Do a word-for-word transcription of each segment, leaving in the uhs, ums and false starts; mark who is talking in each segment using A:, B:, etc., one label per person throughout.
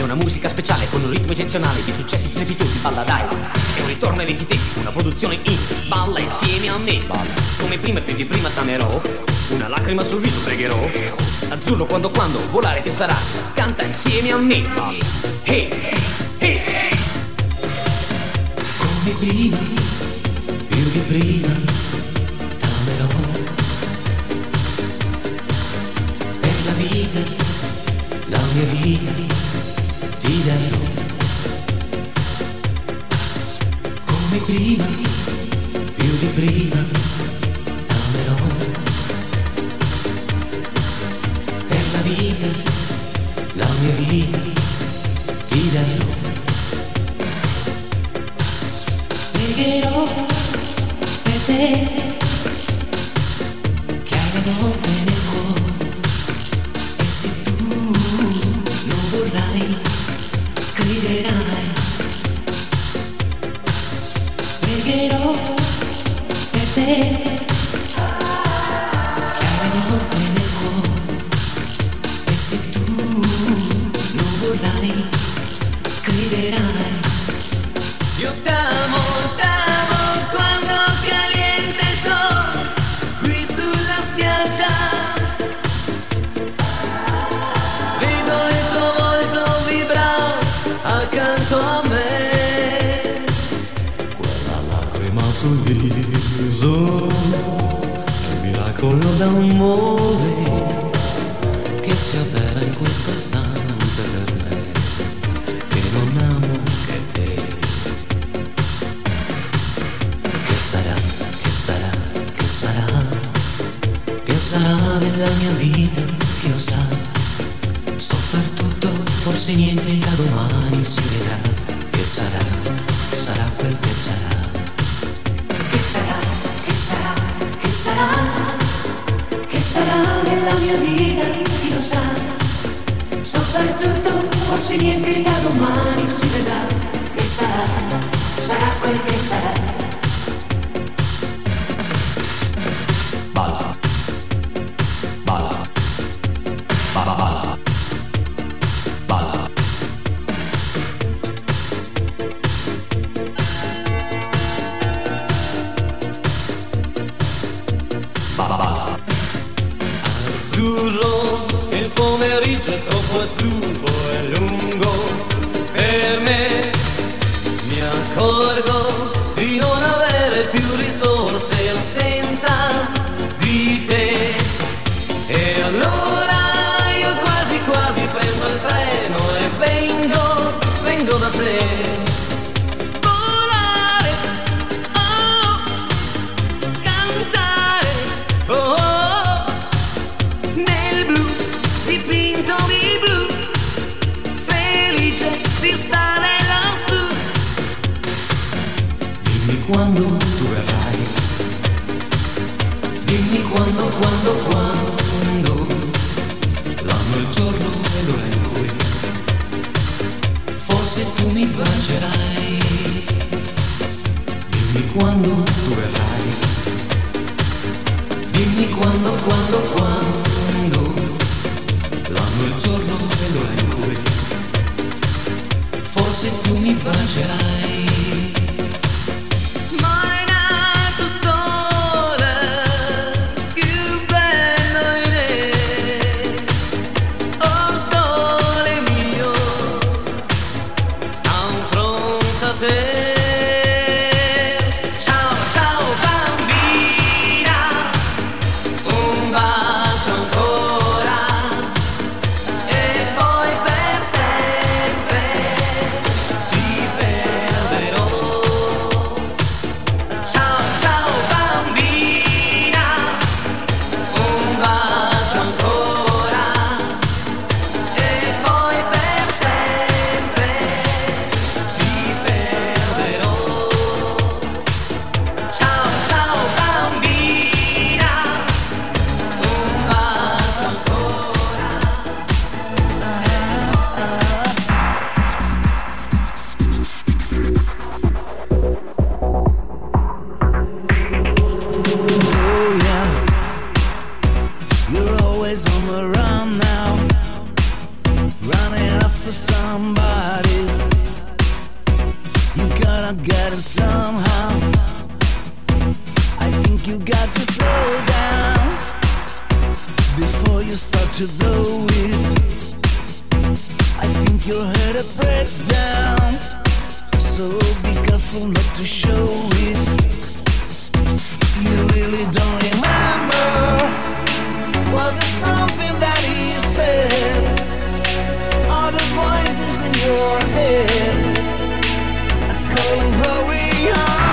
A: una musica speciale con un ritmo eccezionale di successi strepitosi. Balla dai, è un ritorno ai vecchi tempi, una produzione indie. Balla insieme a me, balla come prima, più di prima t'amerò. Una lacrima sul viso pregherò. Azzurro quando quando volare che sarà. Canta insieme a me, balla. Hey, hey, hey.
B: Come prima, più di prima t'amerò. Per la vita, la mia vita ti darò. Come prima, più di prima t'amerò. Per la vita, la mia vita ti darò. Pregherò per te che hai le notte nel cuore, e se tu lo vorrai crederai. Pregherò per te che hai le notte nel cuore, e se tu lo vorrai crederai.
C: Io t'amo, t'amo quando caliente il sole qui sulla spiaggia. Vedo il tuo volto vibrare accanto a me.
D: Quella lacrima sul viso è un miracolo d'amore
B: che si avvera in questo istante per me, che non amo che te. Che sarà, che sarà, che sarà, che sarà della mia vita, chi lo sa. Soffer tutto, forse niente da domani si vedrà. Che sarà, sarà quel che sarà. Che sarà, che sarà, che sarà, che sarà della mia vita, chi lo sa. Soffer tutto, forse niente da domani si vedrà. Che sarà, sarà quel che sarà.
D: Balla, balla, balla, balla, balla. Balla, balla.
C: Azzurro, il pomeriggio è troppo azzurro e lungo per me. Mi accorgo di non avere più risorse senza di te. E allora io quasi quasi prendo il treno e vengo, vengo da te. Volare, oh, cantare, oh, oh, nel blu, dipinto di blu, felice di stare lassù.
B: Dimmi quando tu verrai, dimmi quando, quando, quando, l'anno, il giorno e l'ora in cui forse tu mi bacerai. Dimmi quando tu verrai, dimmi quando, quando, quando, l'anno, il giorno e l'ora in cui forse tu mi bacerai.
C: Mai nato sole, più bello in te. Oh sole mio, sta in fronte a te. Ciao, ciao bambina, un bacio ancora e poi per sempre ti
E: somebody. You gotta get it somehow. I think you got to slow down before you start to blow it. I think you're headed break down, so be careful not to show it. You really don't remember. Was it something that he said? Are the voices in your head calling glory on?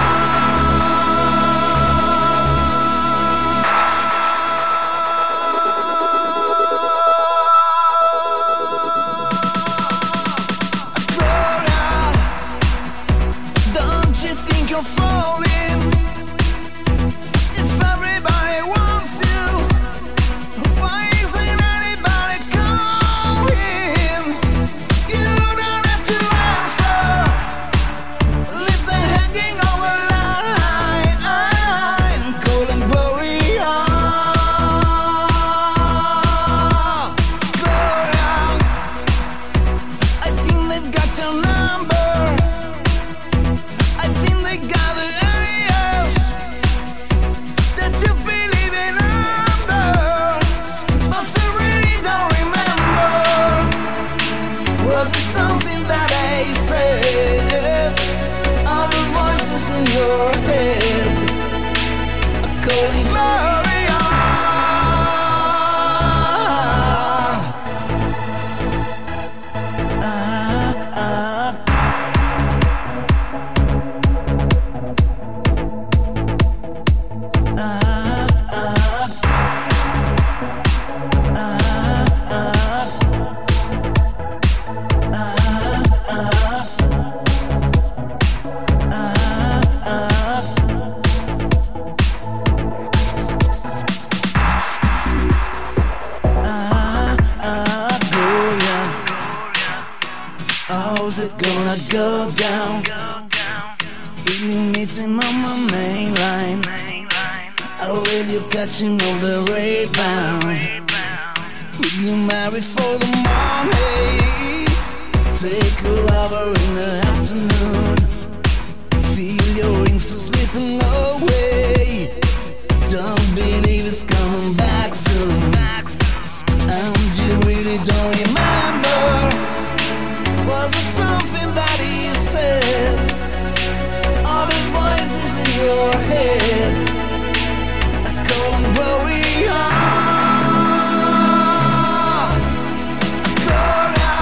E: How's it gonna go down? Will you meeting on my main line? Or will you catching all the rebound? Will you marry for the money? Take a lover in the afternoon. Feel your rings slipping away. Don't believe it's coming back soon. And you really don't remember. Was it something that he said? All the voices in your head are calling glory on. Gloria,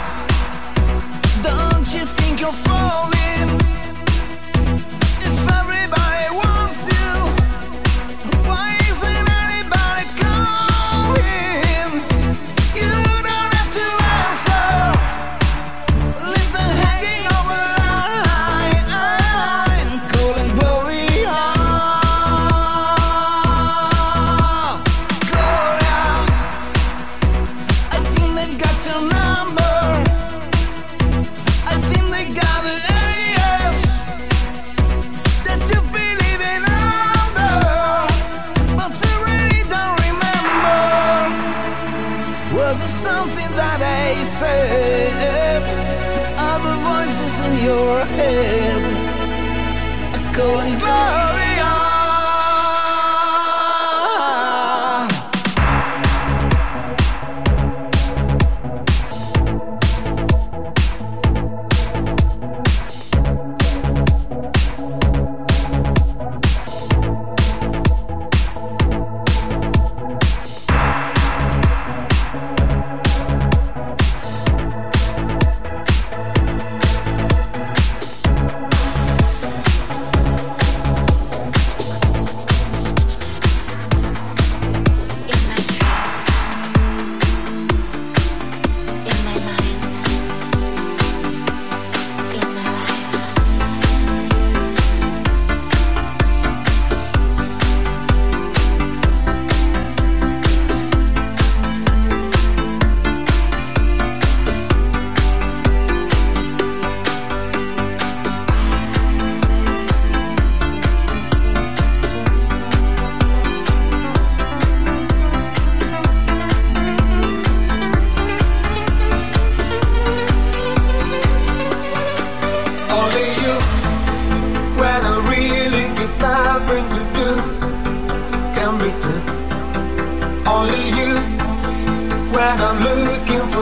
E: don't you think you're falling? If everybody wants you, why isn't anybody calling? You don't have to answer. Leave them hanging over line, calling glory on. Gloria, I think they've got your number. I think they got the areas that you believe in under, but you really don't remember. Was it something that I said? Are the voices in your head are calling glory on?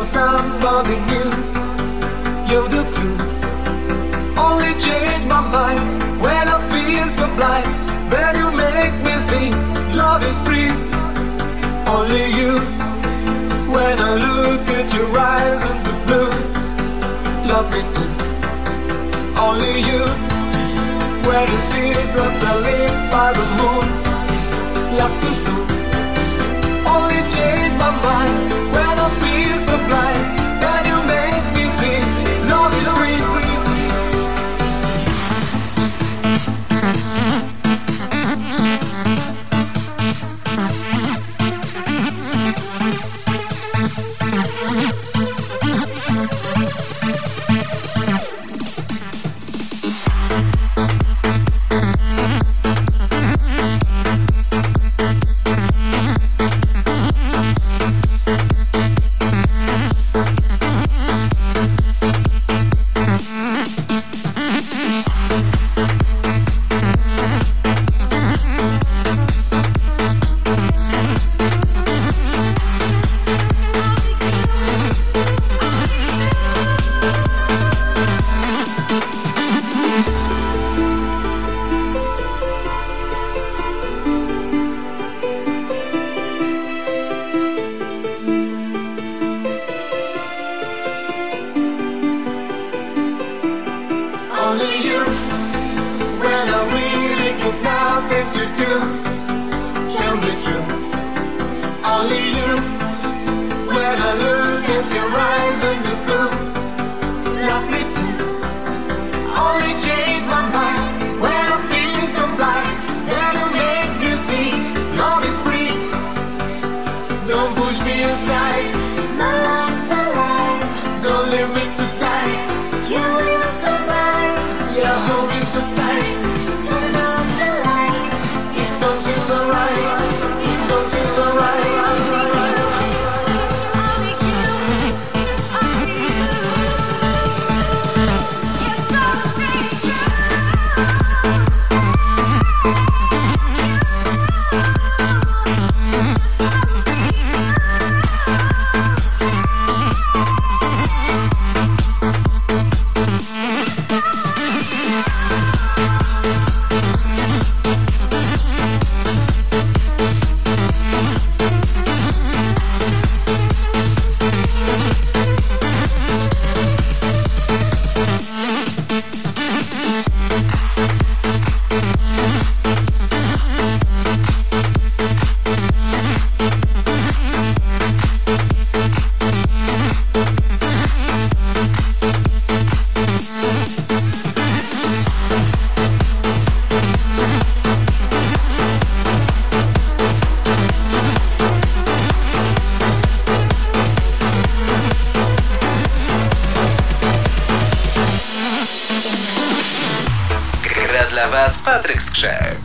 C: for somebody new. You're the clue. Only change my mind when I feel so blind. Then you make me see love is free. Only you. When I look at your eyes and the blue, love me too. Only you. When the teardrops are lit by the moon, love too soon. Only change my mind when I feel so blind. Then you make me see love is free.
F: Patryk Skrzek.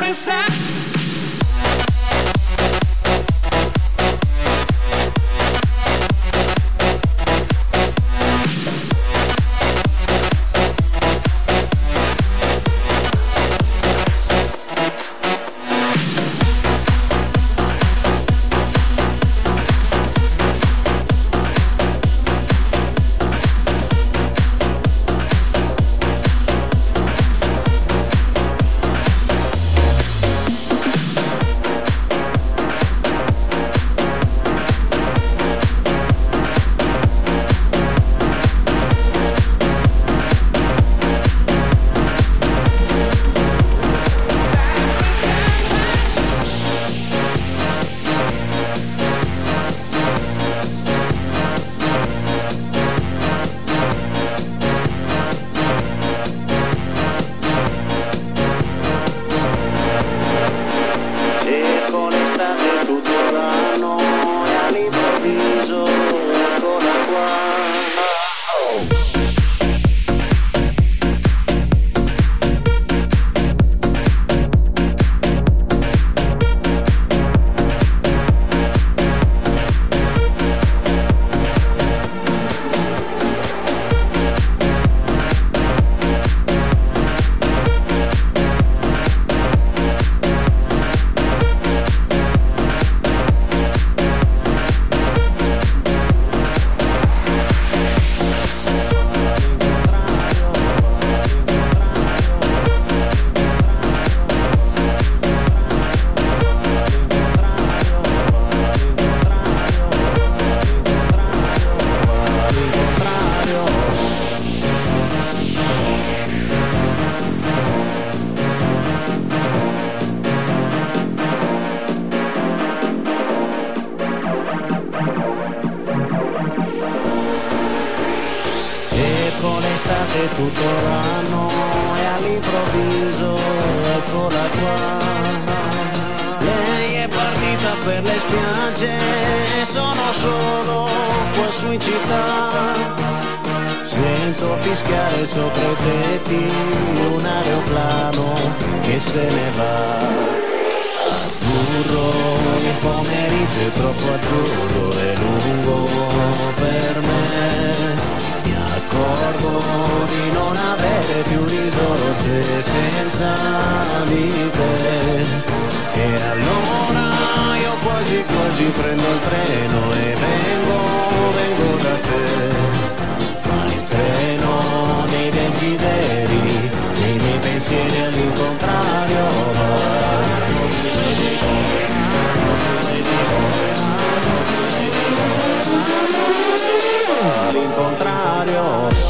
C: l'estate tutto l'anno e all'improvviso eccola qua. Lei è partita per le spiagge e sono solo qua su in città. Sento fischiare sopra i tetti un aeroplano che se ne va. Azzurro, il pomeriggio è troppo azzurro e lungo per me. Mi accorgo di non avere più risorse senza di te. E allora io quasi quasi prendo il treno e vengo, vengo da te. Ma il treno dei desideri, dei miei pensieri all'incontrario va. All'incontrario.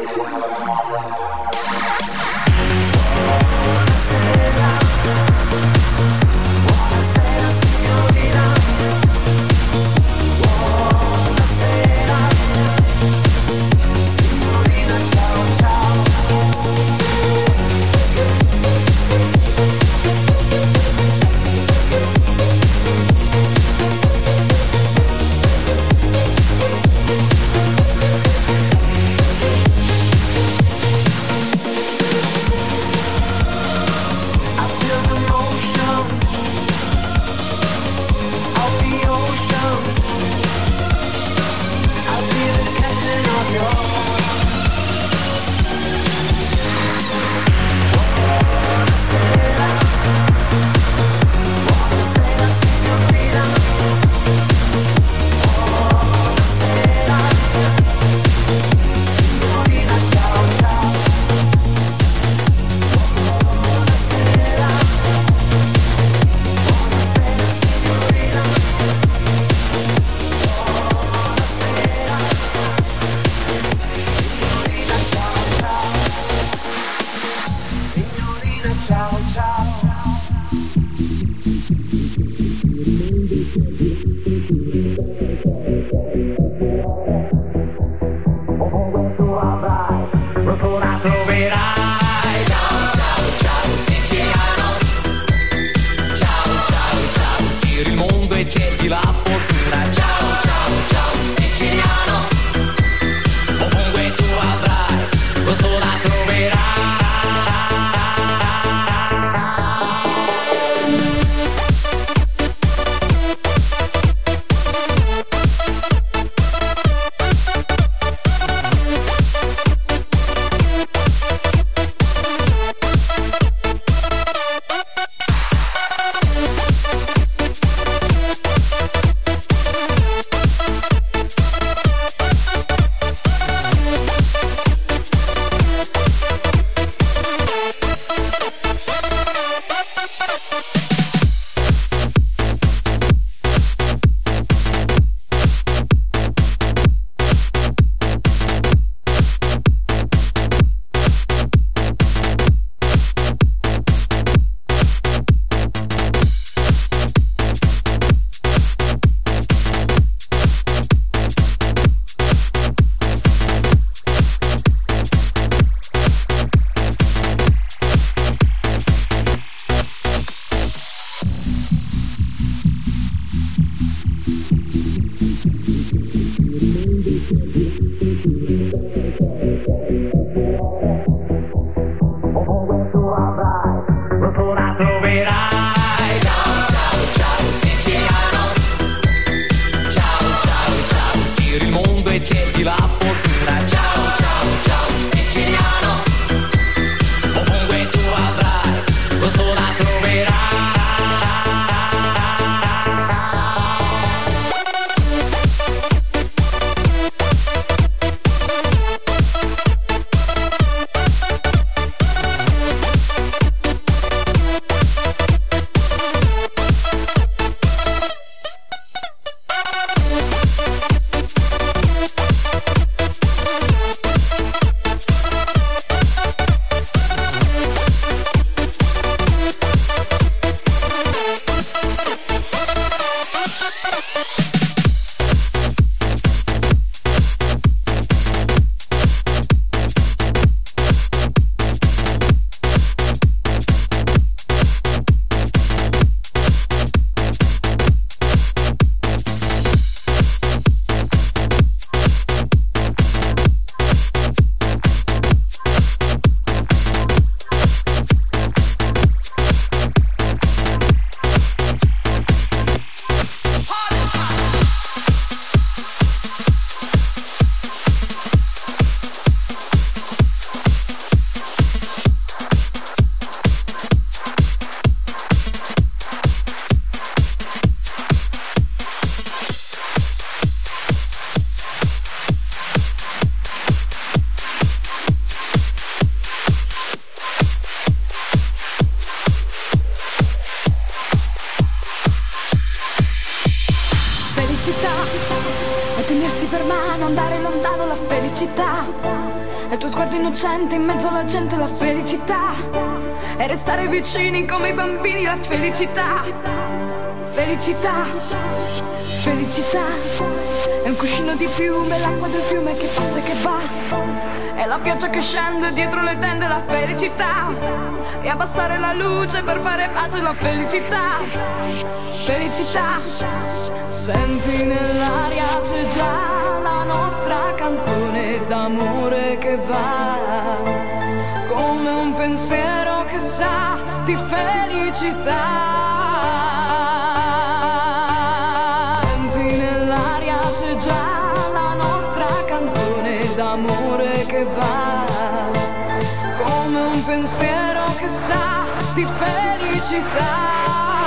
F: felicità e tenersi per mano, andare lontano la felicità. il tuo sguardo innocente in mezzo alla gente, la felicità e restare vicini come i bambini, la felicità, felicità, felicità. È un cuscino di piume, l'acqua del fiume che passa e che va, è la pioggia che scende dietro le tende, la felicità, e abbassare la luce per fare pace, la felicità, felicità. Senti nell'aria c'è già la nostra canzone d'amore che va, come un pensiero che sa di felicità. Senti nell'aria c'è già la nostra canzone d'amore che va, come un pensiero che sa di felicità.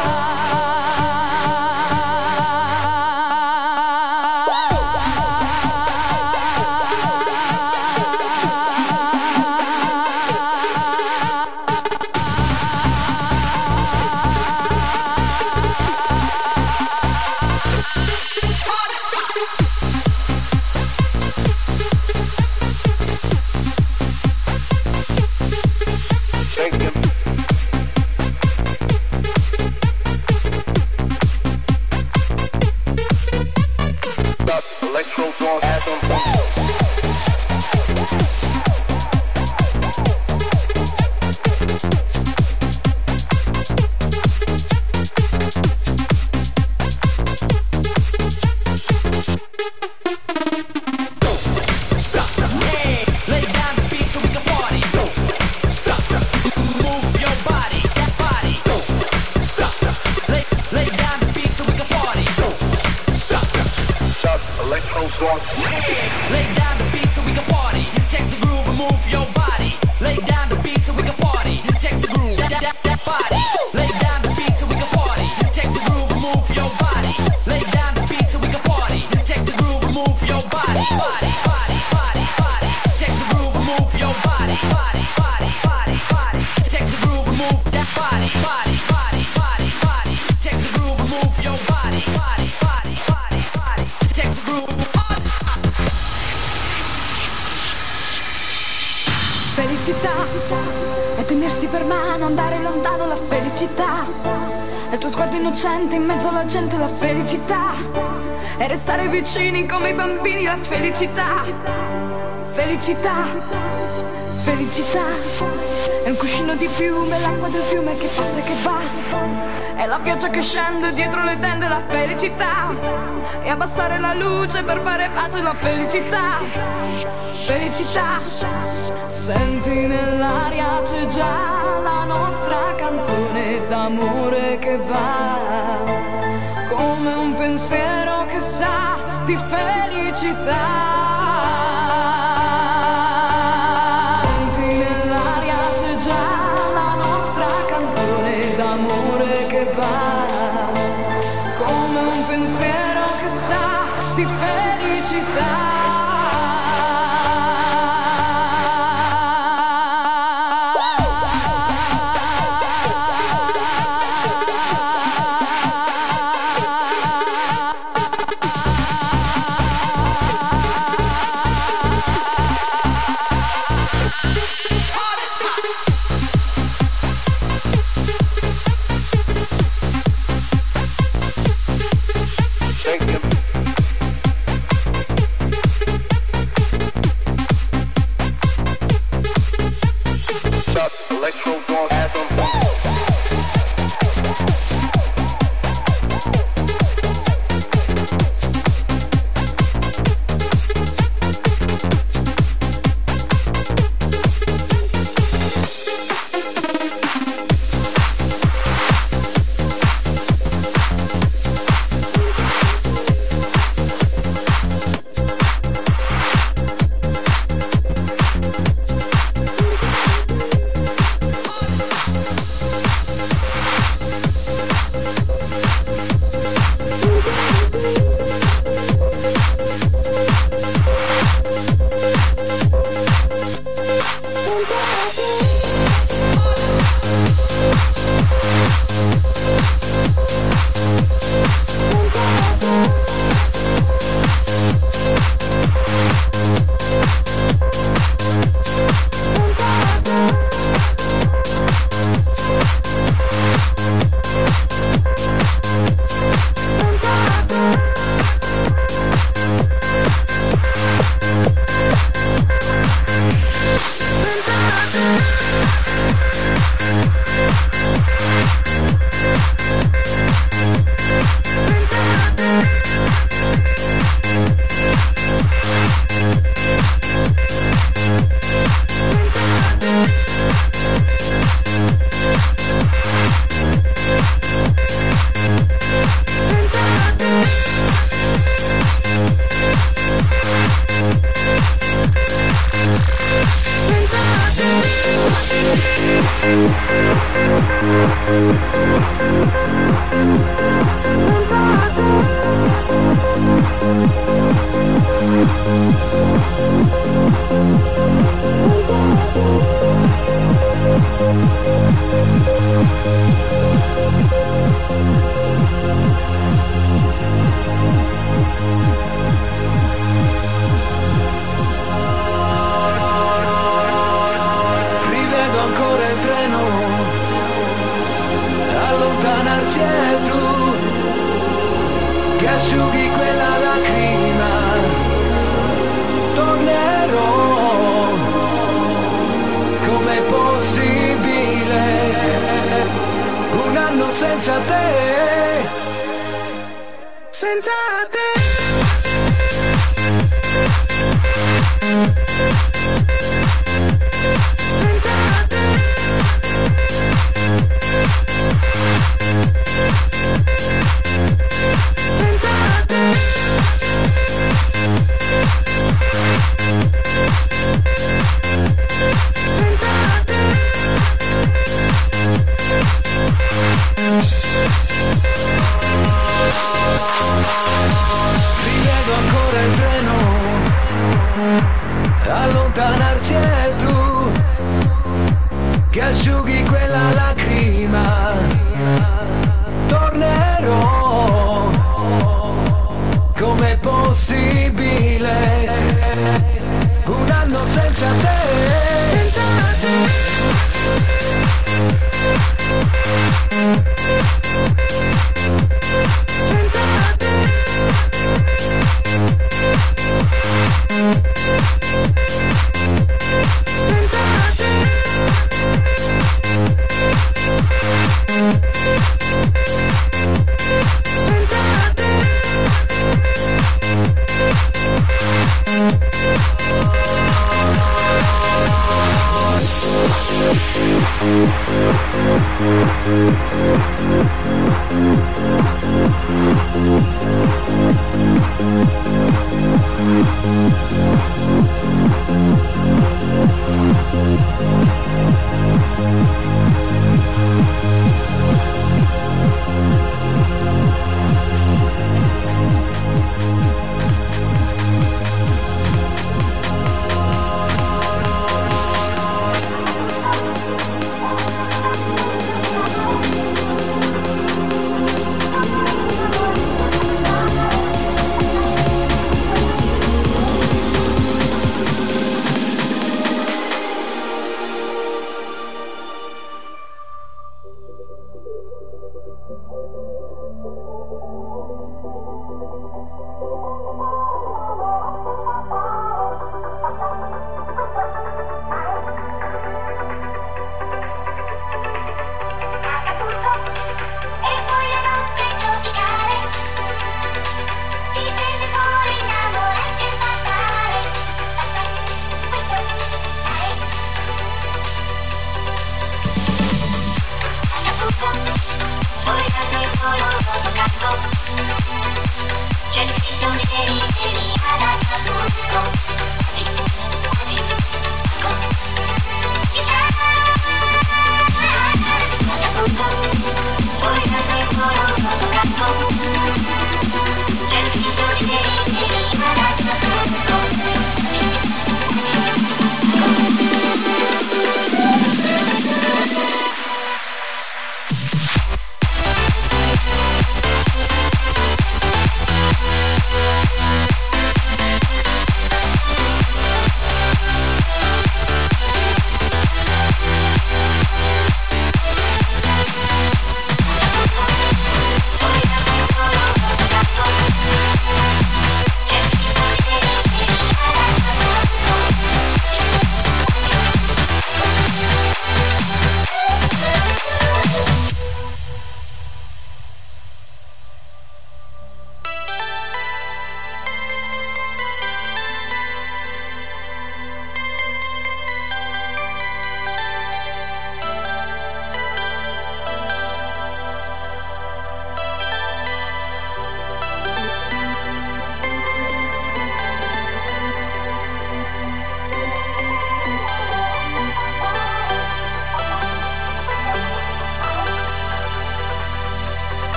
F: Felicità è tenersi per mano, andare lontano, la felicità è il tuo sguardo innocente in mezzo alla gente, la felicità è restare vicini come i bambini, la felicità, felicità, felicità. È un cuscino di piume, l'acqua del fiume che passa e che va, è la pioggia che scende dietro le tende, la felicità, e abbassare la luce per fare pace, la felicità, felicità. Senti nell'aria c'è già la nostra canzone d'amore che va, come un pensiero che sa di felicità. Senti nell'aria c'è già la nostra canzone d'amore che va, come un pensiero che sa di felicità.
C: Thank you.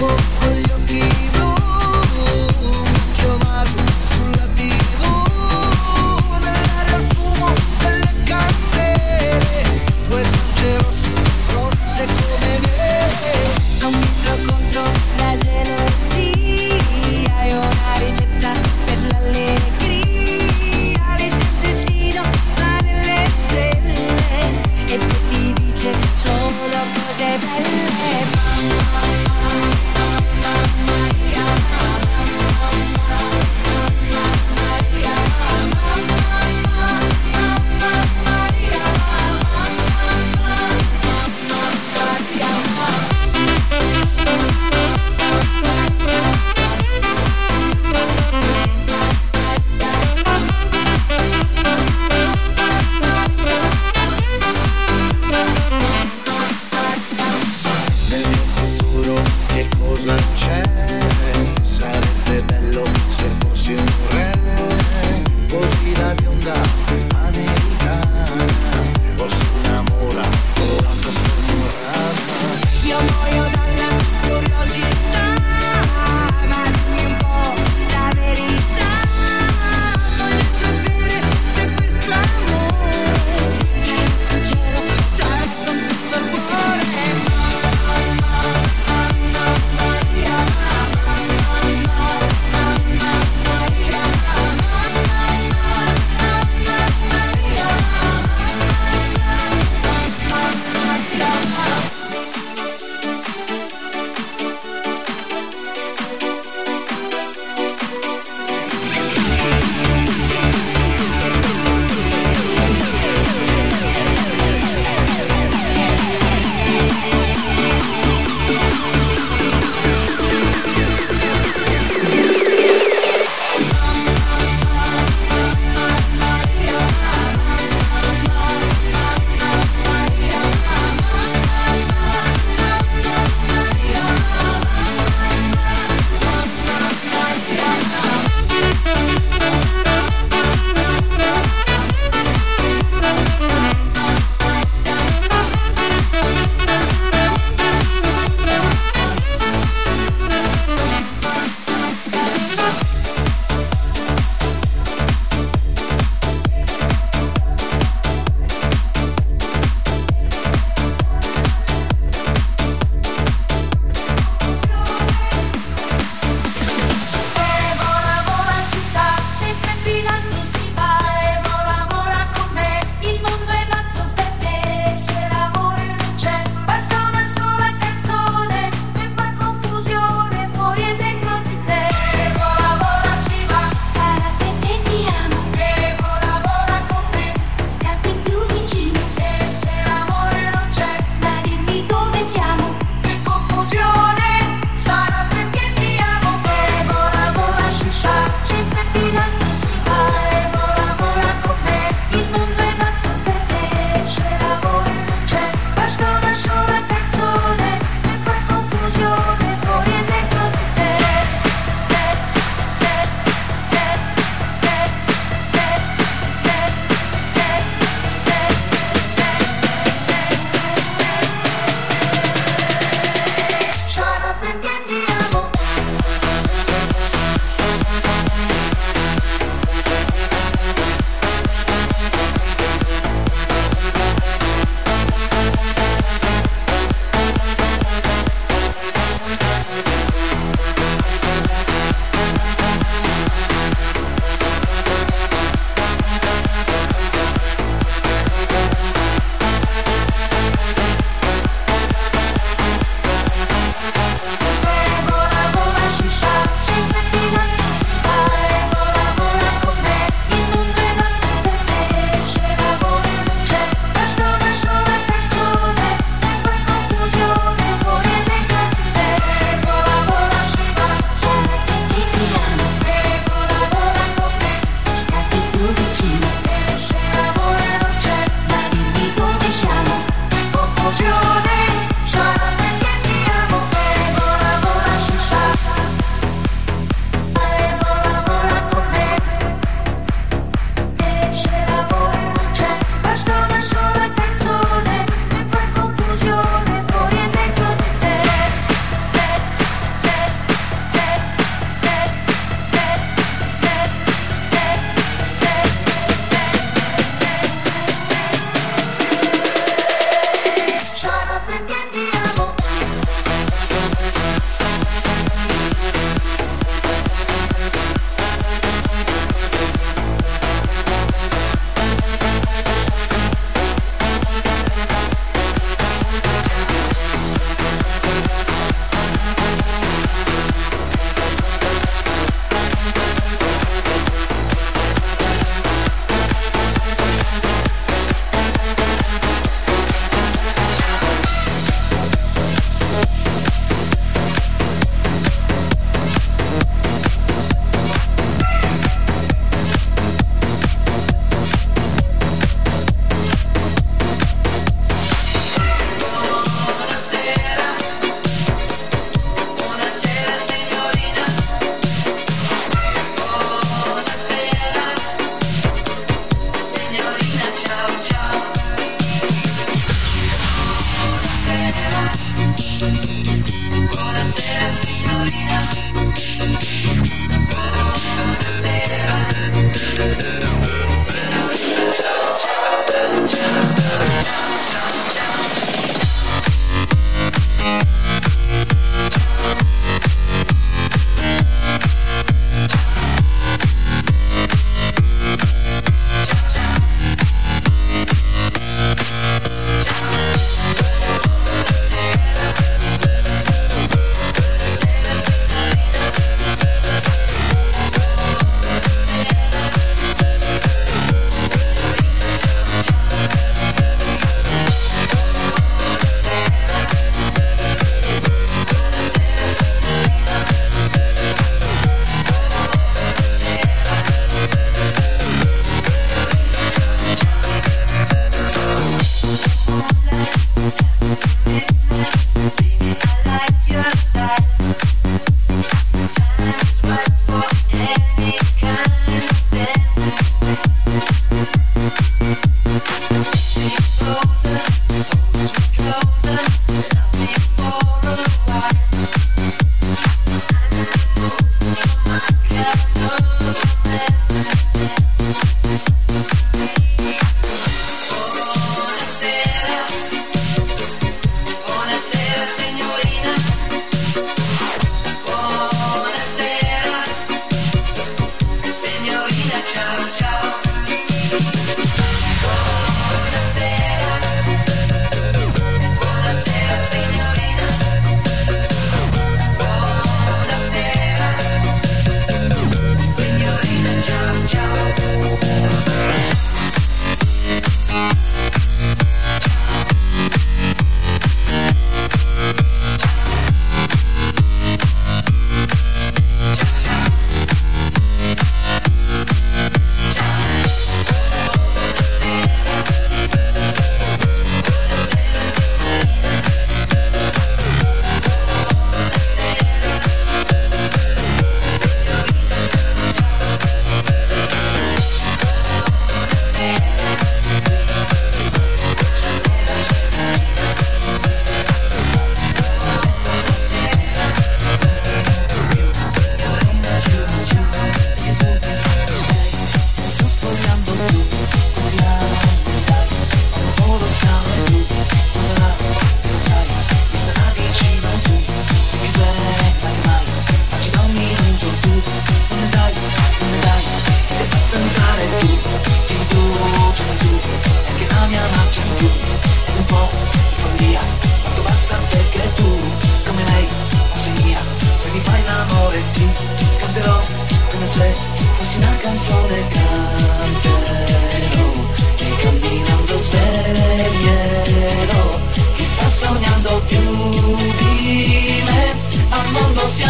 E: con gli occhi blu, occhio vago sulla tivù, nell'aria il fumo delle candele, due luci rosse, rosse come me. Non metto contro la gelossia, è una ricetta per l'allegria, legge il destino là nelle stelle e poi ti dice solo cose belle.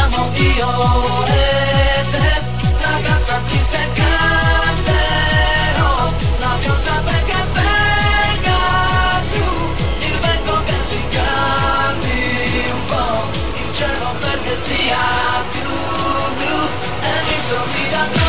C: siamo io e te, ragazza triste e canterò la pioggia perché venga giù, il vento che si calmi un po', il cielo perché sia più blu e mi sorrida tu.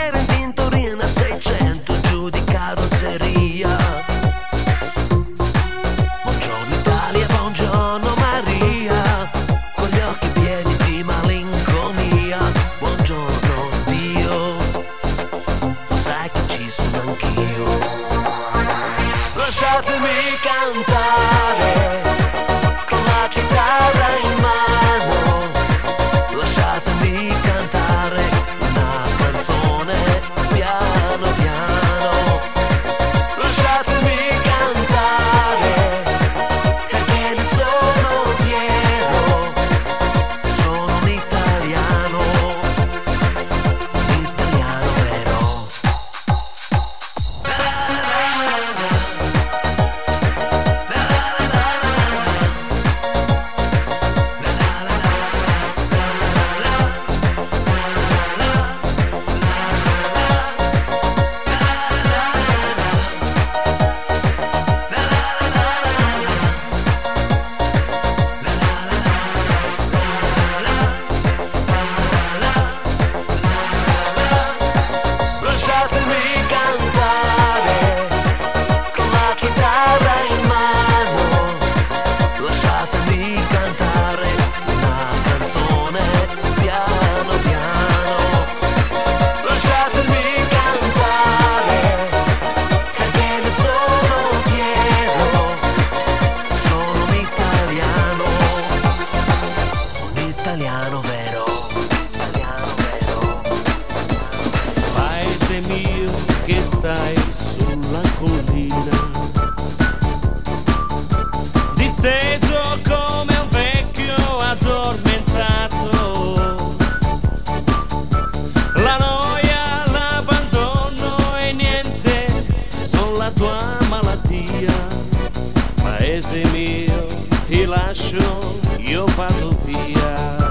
C: Giù di carrozzeria
E: lasciatemi cantare con la chitarra in mano, lasciatemi cantare una canzone piano piano, lasciatemi cantare perché ne sono fiero, sono un italiano, un italiano vero. Lasciatemi cantare con la chitarra in mano, lasciatemi cantare una canzone piano piano, lasciatemi cantare perché ne sono fiero, sono un italiano, un italiano vero, italiano vero.
G: Paese mio che stai sulla collina, disteso come un vecchio addormentato, la noia, l'abbandono e niente son la tua malattia. Paese mio, ti lascio, io vado via.